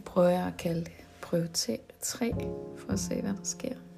prøver jeg at kalde det prøve 3, for at se, hvad der sker.